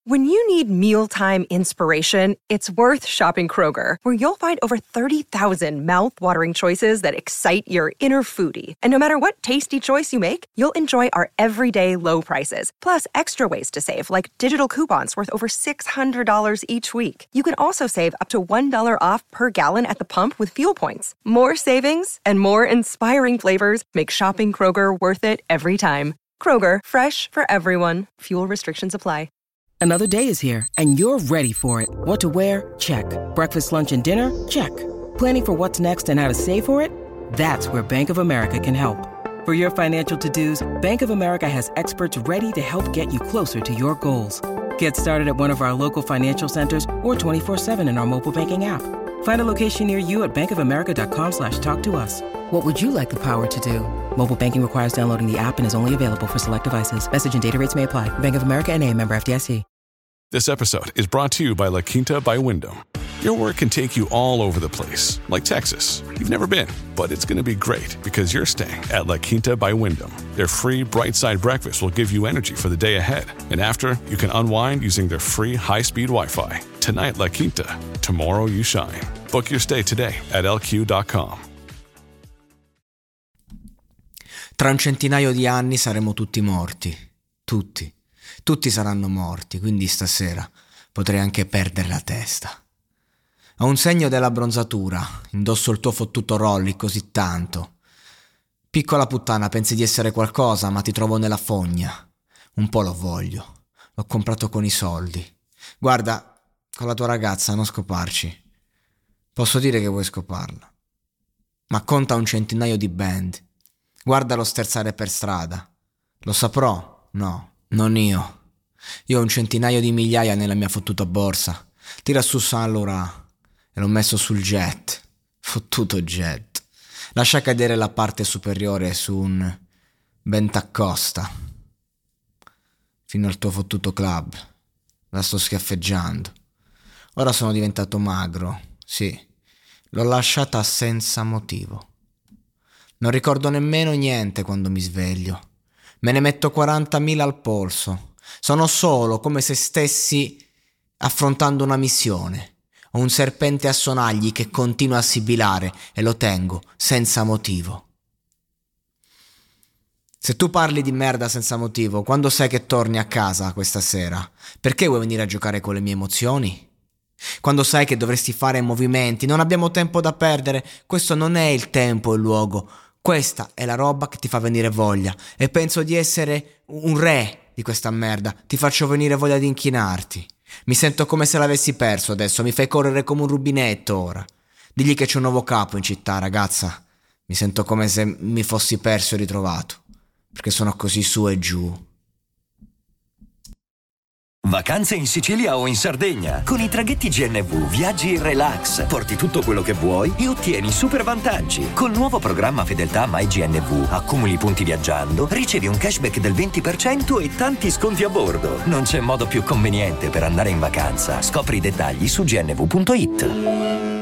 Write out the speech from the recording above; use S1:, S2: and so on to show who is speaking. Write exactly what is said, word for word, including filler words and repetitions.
S1: When you need mealtime inspiration, it's worth shopping Kroger, where you'll find over thirty thousand mouth-watering choices that excite your inner foodie. And no matter what tasty choice you make, you'll enjoy our everyday low prices, plus extra ways to save, like digital coupons worth over six hundred dollars each week. You can also save up to one dollar off per gallon at the pump with fuel points. More savings and more inspiring flavors make shopping Kroger worth it every time. Kroger, fresh for everyone. Fuel restrictions apply.
S2: Another day is here, and you're ready for it. What to wear? Check. Breakfast, lunch, and dinner? Check. Planning for what's next and how to save for it? That's where Bank of America can help. For your financial to-dos, Bank of America has experts ready to help get you closer to your goals. Get started at one of our local financial centers or twenty-four seven in our mobile banking app. Find a location near you at bankofamerica.com slash talk to us. What would you like the power to do? Mobile banking requires downloading the app and is only available for select devices. Message and data rates may apply. Bank of America N A, member F D I C.
S3: This episode is brought to you by La Quinta by Wyndham. Your work can take you all over the place, like Texas. You've never been, but it's going to be great because you're staying at La Quinta by Wyndham. Their free Bright Side breakfast will give you energy for the day ahead. And after, you can unwind using their free high-speed Wi-Fi. Tonight, La Quinta. Tomorrow, you shine. Book your stay today at L Q dot com.
S4: Tra un centinaio di anni saremo tutti morti. Tutti. Tutti saranno morti, quindi stasera potrei anche perdere la testa. Ho un segno della bronzatura, indosso il tuo fottuto Rolly così tanto. Piccola puttana, pensi di essere qualcosa, ma ti trovo nella fogna. Un po' lo voglio. L'ho comprato con i soldi. Guarda, con la tua ragazza non scoparci. Posso dire che vuoi scoparla. Ma conta un centinaio di band. Guardalo sterzare per strada. Lo saprò? No. Non io. Io ho un centinaio di migliaia nella mia fottuta borsa. Tira su Saint Laurent e l'ho messo sul jet. Fottuto jet. Lascia cadere la parte superiore su un Bentaccosta. Fino al tuo fottuto club. La sto schiaffeggiando. Ora sono diventato magro. Sì, l'ho lasciata senza motivo. Non ricordo nemmeno niente quando mi sveglio. Me ne metto quarantamila al polso. Sono solo, come se stessi affrontando una missione. Ho un serpente a sonagli che continua a sibilare e lo tengo senza motivo. Se tu parli di merda senza motivo, quando sai che torni a casa questa sera? Perché vuoi venire a giocare con le mie emozioni? Quando sai che dovresti fare movimenti, non abbiamo tempo da perdere, questo non è il tempo e il luogo. Questa è la roba che ti fa venire voglia e penso di essere un re di questa merda. Ti faccio venire voglia di inchinarti. Mi sento come se l'avessi perso adesso, mi fai correre come un rubinetto ora. Digli che c'è un nuovo capo in città, ragazza. Mi sento come se mi fossi perso e ritrovato, perché sono così su e giù.
S5: Vacanze in Sicilia o in Sardegna. Con i traghetti G N V viaggi in relax, porti tutto quello che vuoi e ottieni super vantaggi. Col nuovo programma Fedeltà MyGNV accumuli punti viaggiando, ricevi un cashback del venti per cento e tanti sconti a bordo. Non c'è modo più conveniente per andare in vacanza. Scopri i dettagli su gnv punto it.